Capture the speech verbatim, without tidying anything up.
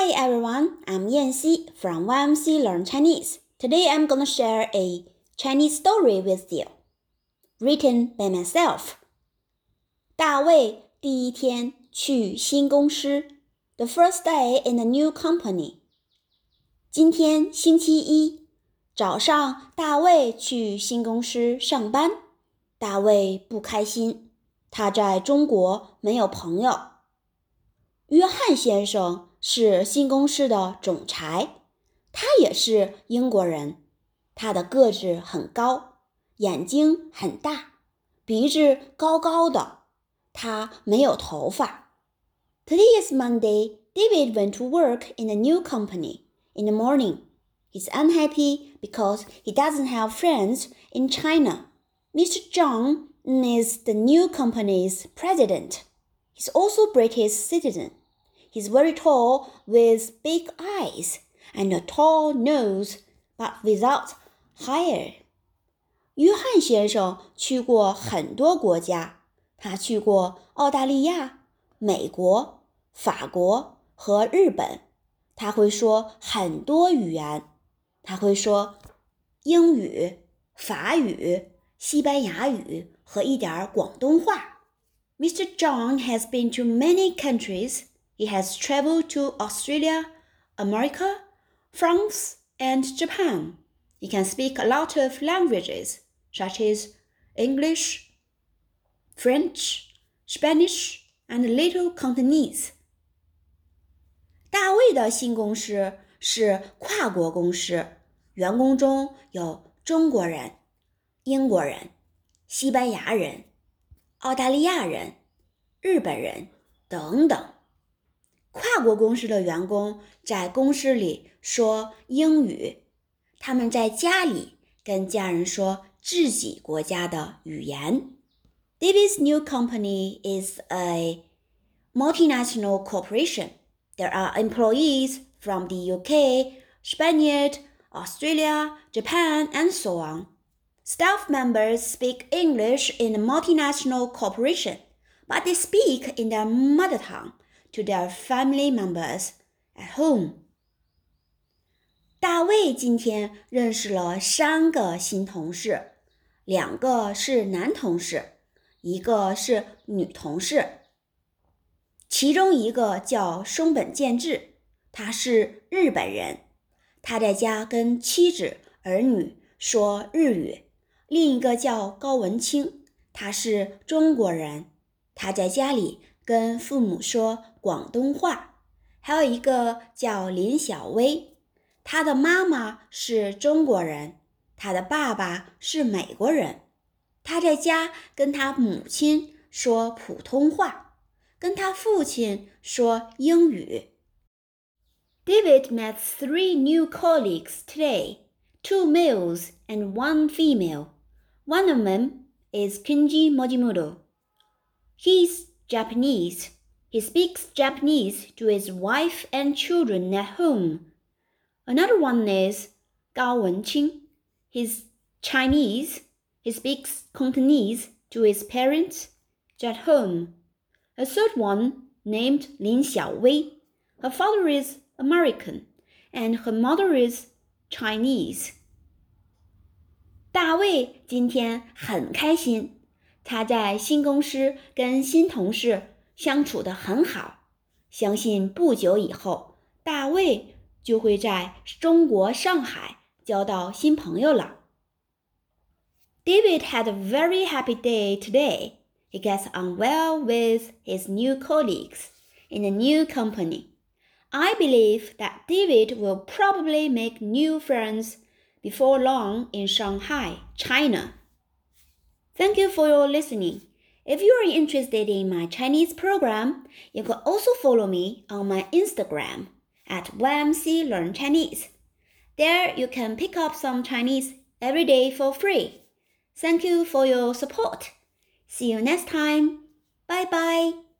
Hi everyone, I'm Yanxi from Y M C Learn Chinese. Today I'm gonna share a Chinese story with you, written by myself. 大卫第一天去新公司 The first day in the new company. 今天星期一，早上大卫去新公司上班。大卫不开心，他在中国没有朋友。约翰先生是新公司的总裁，他也是英国人。他的个子很高，眼睛很大，鼻子高高的，他没有头发。Today is Monday. David went to work in a new company in the morning. He's unhappy because he doesn't have friends in China. Mister Zhang is the new company's president. He's also a British citizen.He's very tall with big eyes and a tall nose, but without hair. 约翰先生去过很多国家，他去过澳大利亚、美国、法国和日本。他会说很多语言，他会说英语、法语、西班牙语和一点广东话。Mister Zhang has been to many countries.He has traveled to Australia, America, France, and Japan. He can speak a lot of languages, such as English, French, Spanish, and a little Cantonese. 大卫的新公司是跨国公司，员工中有中国人、英国人、西班牙人、澳大利亚人、日本人等等。跨国公司的员工在公司里说英语，他们在家里跟家人说自己国家的语言。David's new company is a multinational corporation. There are employees from the U K, Spain, Australia, Japan, and so on. Staff members speak English in a multinational corporation, but they speak in their mother tongue.To their family members at home. 大卫今天认识了三个新同事，两个是男同事，一个是女同事。其中一个叫松本健治，他是日本人，他在家跟妻子、儿女说日语。另一个叫高文清，他是中国人，他在家里跟父母说广东话。还有一个叫林小薇，她的妈妈是中国人，她的爸爸是美国人。她在家跟她母亲说普通话，跟她父亲说英语。David met three new colleagues today, two males and one female. One of them is Kenji Mojimoto. He's Japanese.He speaks Japanese to his wife and children at home. Another one is Gao Wenqing. He's Chinese. He speaks Cantonese to his parents at home. A third one, named Lin Xiaowei. Her father is American, and her mother is Chinese. 大卫今天很开心，他在新公司跟新同事相处得很好，相信不久以后，大卫就会在中国上海交到新朋友了。David had a very happy day today. He gets on well with his new colleagues in a new company. I believe that David will probably make new friends before long in Shanghai, China. Thank you for your listening.If you are interested in my Chinese program, you can also follow me on my Instagram at Y M C Learn Chinese. There you can pick up some Chinese every day for free. Thank you for your support. See you next time. Bye bye.